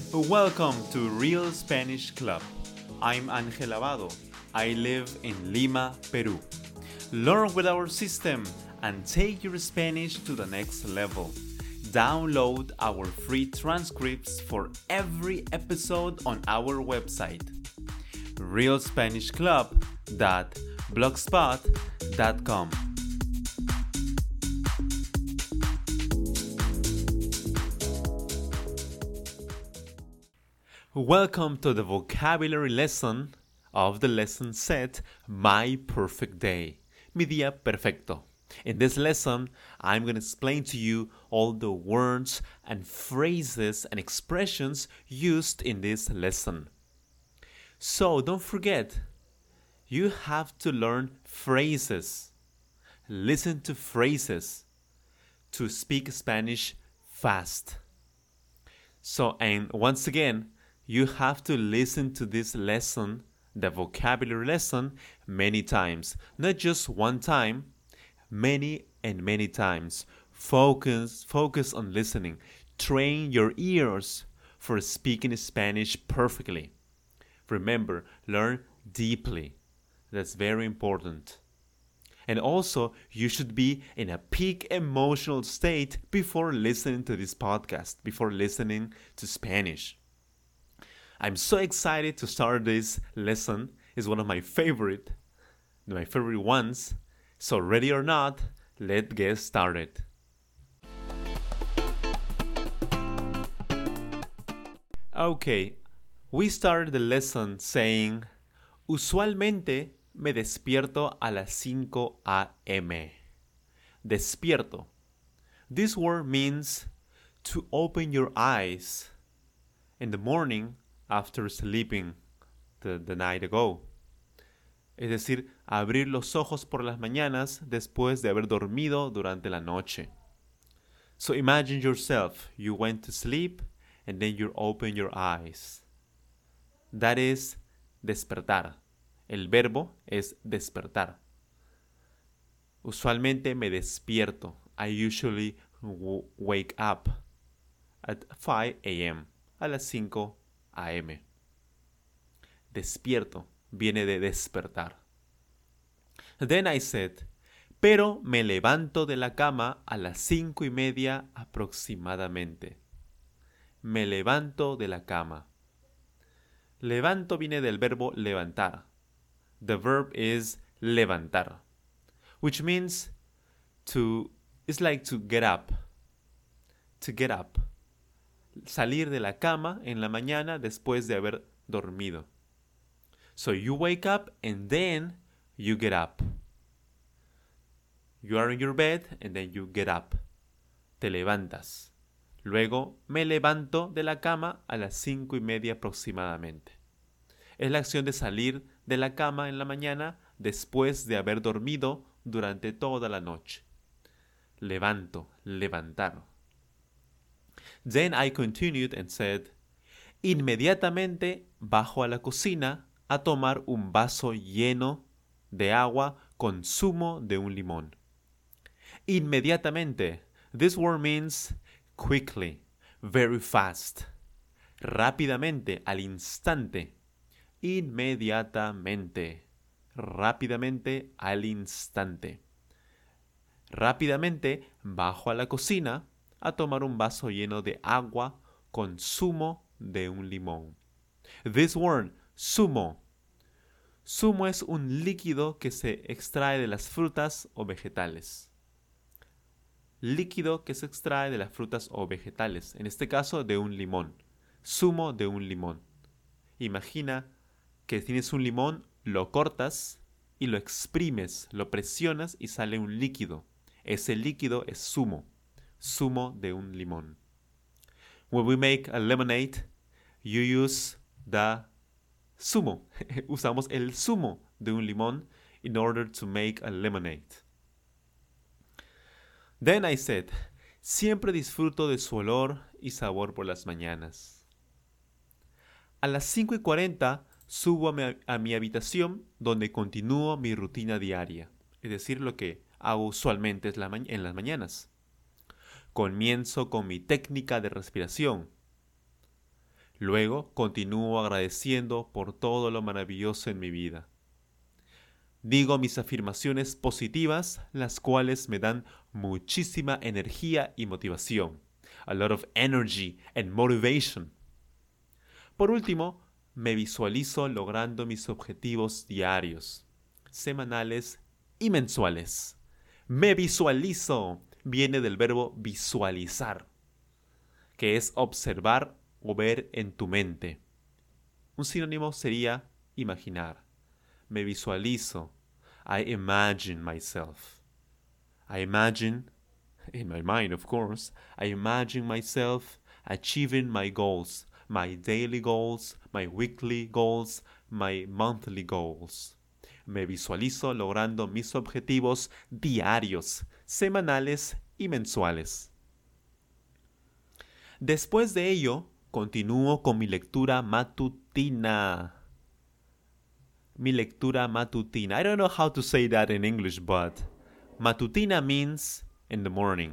Welcome to Real Spanish Club. I'm Ángel Abado. I live in Lima, Peru. Learn with our system and take your Spanish to the next level. Download our free transcripts for every episode on our website, realspanishclub.blogspot.com. Welcome to the vocabulary lesson of the lesson set, My Perfect Day, mi día perfecto. In this lesson, I'm going to explain to you all the words and phrases and expressions used in this lesson. So don't forget, you have to learn phrases. Listen to phrases to speak Spanish fast. And once again, you have to listen to this lesson, the vocabulary lesson, many times. Not just one time, many and many times. Focus on listening. Train your ears for speaking Spanish perfectly. Remember, learn deeply. That's very important. And also, you should be in a peak emotional state before listening to this podcast, before listening to Spanish. I'm so excited to start this lesson. It's one of my favorite ones. So ready or not, let's get started. Okay, we started the lesson saying, usualmente me despierto a las 5 a.m. Despierto. This word means to open your eyes in the morning after sleeping the night ago. Es decir, abrir los ojos por las mañanas después de haber dormido durante la noche. So imagine yourself, you went to sleep and then you open your eyes. That is despertar. El verbo es despertar. Usualmente me despierto. I usually wake up at 5 a.m. a las 5 a.m. Despierto viene de despertar. Then I said, pero me levanto de la cama a las 5:30 aproximadamente. Me levanto de la cama. Levanto viene del verbo levantar. The verb is levantar, which means it's like to get up. To get up. Salir de la cama en la mañana después de haber dormido. So you wake up and then you get up. You are in your bed and then you get up. Te levantas. Luego me levanto de la cama a las 5:30 aproximadamente. Es la acción de salir de la cama en la mañana después de haber dormido durante toda la noche. Levanto, levantar. Then I continued and said, inmediatamente bajo a la cocina a tomar un vaso lleno de agua con zumo de un limón. Inmediatamente. This word means quickly, very fast. Rápidamente, al instante. Inmediatamente. Rápidamente, al instante. Rápidamente bajo a la cocina a tomar un vaso lleno de agua con zumo de un limón. This word, zumo. Zumo es un líquido que se extrae de las frutas o vegetales. Líquido que se extrae de las frutas o vegetales. En este caso, de un limón. Zumo de un limón. Imagina que tienes un limón, lo cortas y lo exprimes, lo presionas y sale un líquido. Ese líquido es zumo. Zumo de un limón. When we make a lemonade, you use the zumo. Usamos el zumo de un limón in order to make a lemonade. Then I said, siempre disfruto de su olor y sabor por las mañanas. A las 5:40 subo a mi habitación donde continúo mi rutina diaria. Es decir, lo que hago usualmente en las mañanas. Comienzo con mi técnica de respiración. Luego continúo agradeciendo por todo lo maravilloso en mi vida. Digo mis afirmaciones positivas, las cuales me dan muchísima energía y motivación. A lot of energy and motivation. Por último, me visualizo logrando mis objetivos diarios, semanales y mensuales. Me visualizo viene del verbo visualizar, que es observar o ver en tu mente. Un sinónimo sería imaginar. Me visualizo. I imagine myself. I imagine, in my mind of course, I imagine myself achieving my goals, my daily goals, my weekly goals, my monthly goals. Me visualizo logrando mis objetivos diarios, semanales y mensuales. Después de ello, continúo con mi lectura matutina. Mi lectura matutina. I don't know how to say that in English, but matutina means in the morning.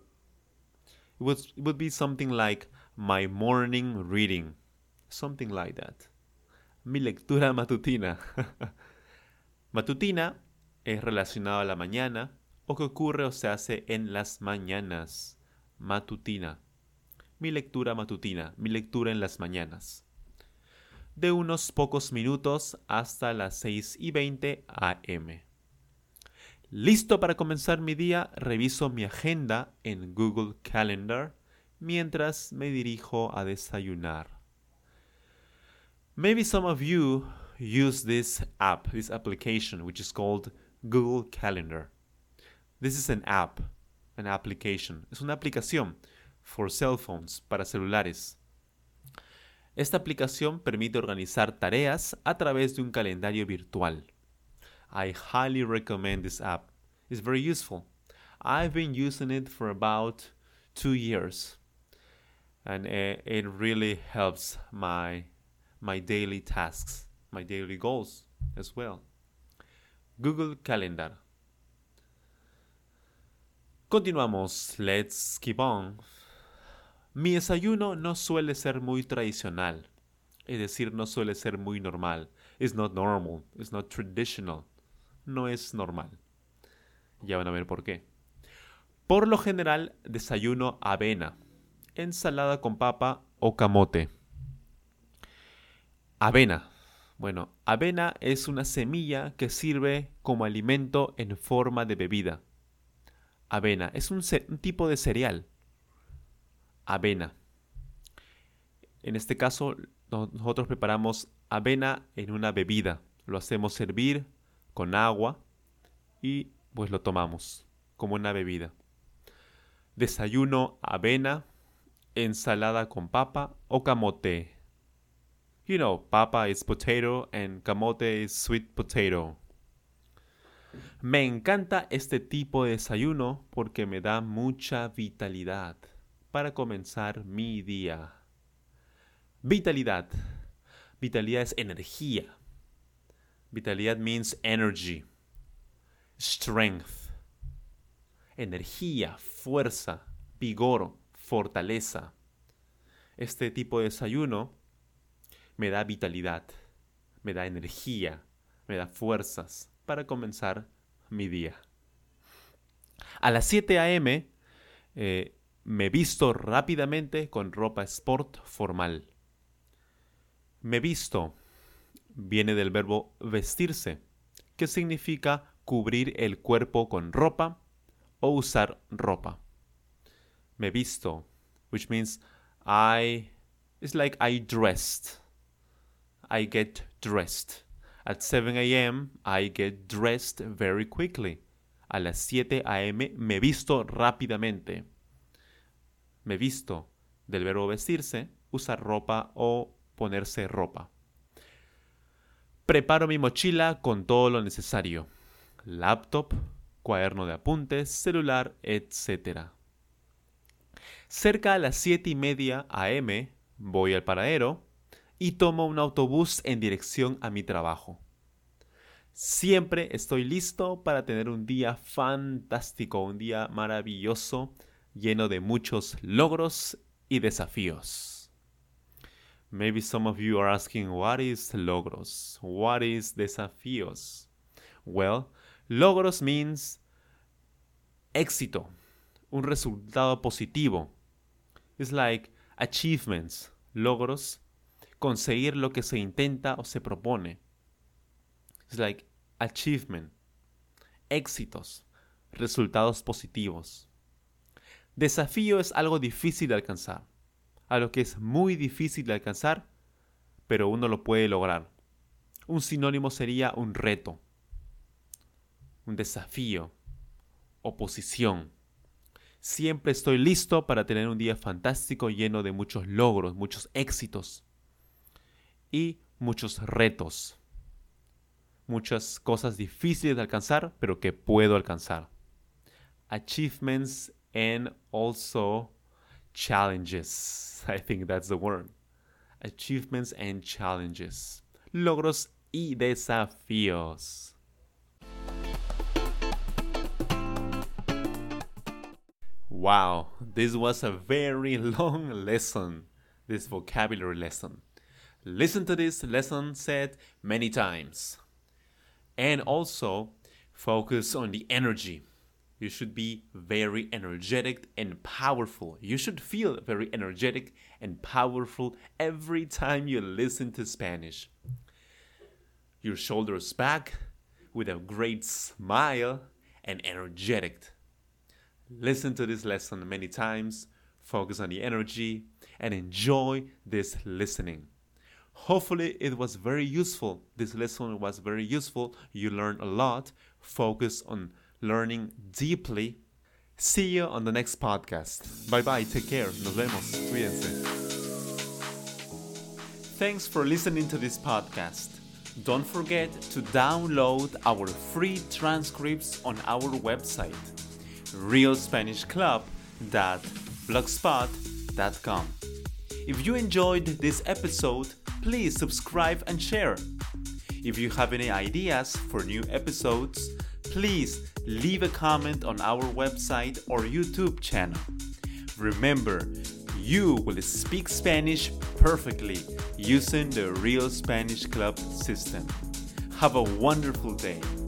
It would be something like my morning reading. Something like that. Mi lectura matutina. Matutina es relacionado a la mañana o que ocurre o se hace en las mañanas. Matutina. Mi lectura matutina, mi lectura en las mañanas. De unos pocos minutos hasta las 6:20 am. Listo para comenzar mi día, reviso mi agenda en Google Calendar mientras me dirijo a desayunar. Maybe some of you use this application, which is called Google Calendar. This is an application. Es una aplicación for cell phones, para celulares. Esta aplicación permite organizar tareas a través de un calendario virtual. I highly recommend this app. It's very useful. I've been using it for about 2 years. And it really helps my daily tasks, my daily goals as well. Google Calendar. Continuamos. Let's keep on. Mi desayuno no suele ser muy tradicional. Es decir, no suele ser muy normal. It's not normal. It's not traditional. No es normal. Ya van a ver por qué. Por lo general, desayuno avena, ensalada con papa o camote. Avena. Bueno, avena es una semilla que sirve como alimento en forma de bebida. Avena es un tipo de cereal. Avena. En este caso, nosotros preparamos avena en una bebida. Lo hacemos hervir con agua y pues lo tomamos como una bebida. Desayuno avena, ensalada con papa o camote. You know, papa is potato and camote is sweet potato. Me encanta este tipo de desayuno porque me da mucha vitalidad para comenzar mi día. Vitalidad. Vitalidad es energía. Vitalidad means energy. Strength. Energía, fuerza, vigor, fortaleza. Este tipo de desayuno me da vitalidad, me da energía, me da fuerzas para comenzar mi día. A las 7 am me visto rápidamente con ropa sport formal. Me visto viene del verbo vestirse, que significa cubrir el cuerpo con ropa o usar ropa. Me visto, which means it's like I dressed. I get dressed. At 7 a.m. I get dressed very quickly. A las 7 a.m. me visto rápidamente. Me visto del verbo vestirse, usar ropa o ponerse ropa. Preparo mi mochila con todo lo necesario. Laptop, cuaderno de apuntes, celular, etc. Cerca a las 7:30 am voy al paradero y tomo un autobús en dirección a mi trabajo. Siempre estoy listo para tener un día fantástico, un día maravilloso, lleno de muchos logros y desafíos. Maybe some of you are asking, what is logros? What is desafíos? Well, logros means éxito, un resultado positivo. It's like achievements, logros, conseguir lo que se intenta o se propone. It's like achievement, éxitos, resultados positivos. Desafío es algo difícil de alcanzar, algo que es muy difícil de alcanzar, pero uno lo puede lograr. Un sinónimo sería un reto, un desafío, oposición. Siempre estoy listo para tener un día fantástico lleno de muchos logros, muchos éxitos y muchos retos. Muchas cosas difíciles de alcanzar, pero que puedo alcanzar. Achievements and also challenges. I think that's the word. Achievements and challenges. Logros y desafíos. Wow, this was a very long lesson, this vocabulary lesson. Listen to this lesson said many times. And also, focus on the energy. You should be very energetic and powerful. You should feel very energetic and powerful every time you listen to Spanish. Your shoulders back with a great smile and energetic. Listen to this lesson many times, focus on the energy, and enjoy this listening. Hopefully it was very useful. This lesson was very useful. You learned a lot. Focus on learning deeply. See you on the next podcast. Bye-bye. Take care. Nos vemos. Cuídense. Thanks for listening to this podcast. Don't forget to download our free transcripts on our website, realspanishclub.blogspot.com. If you enjoyed this episode, please subscribe and share. If you have any ideas for new episodes, please leave a comment on our website or YouTube channel. Remember, you will speak Spanish perfectly using the Real Spanish Club system. Have a wonderful day.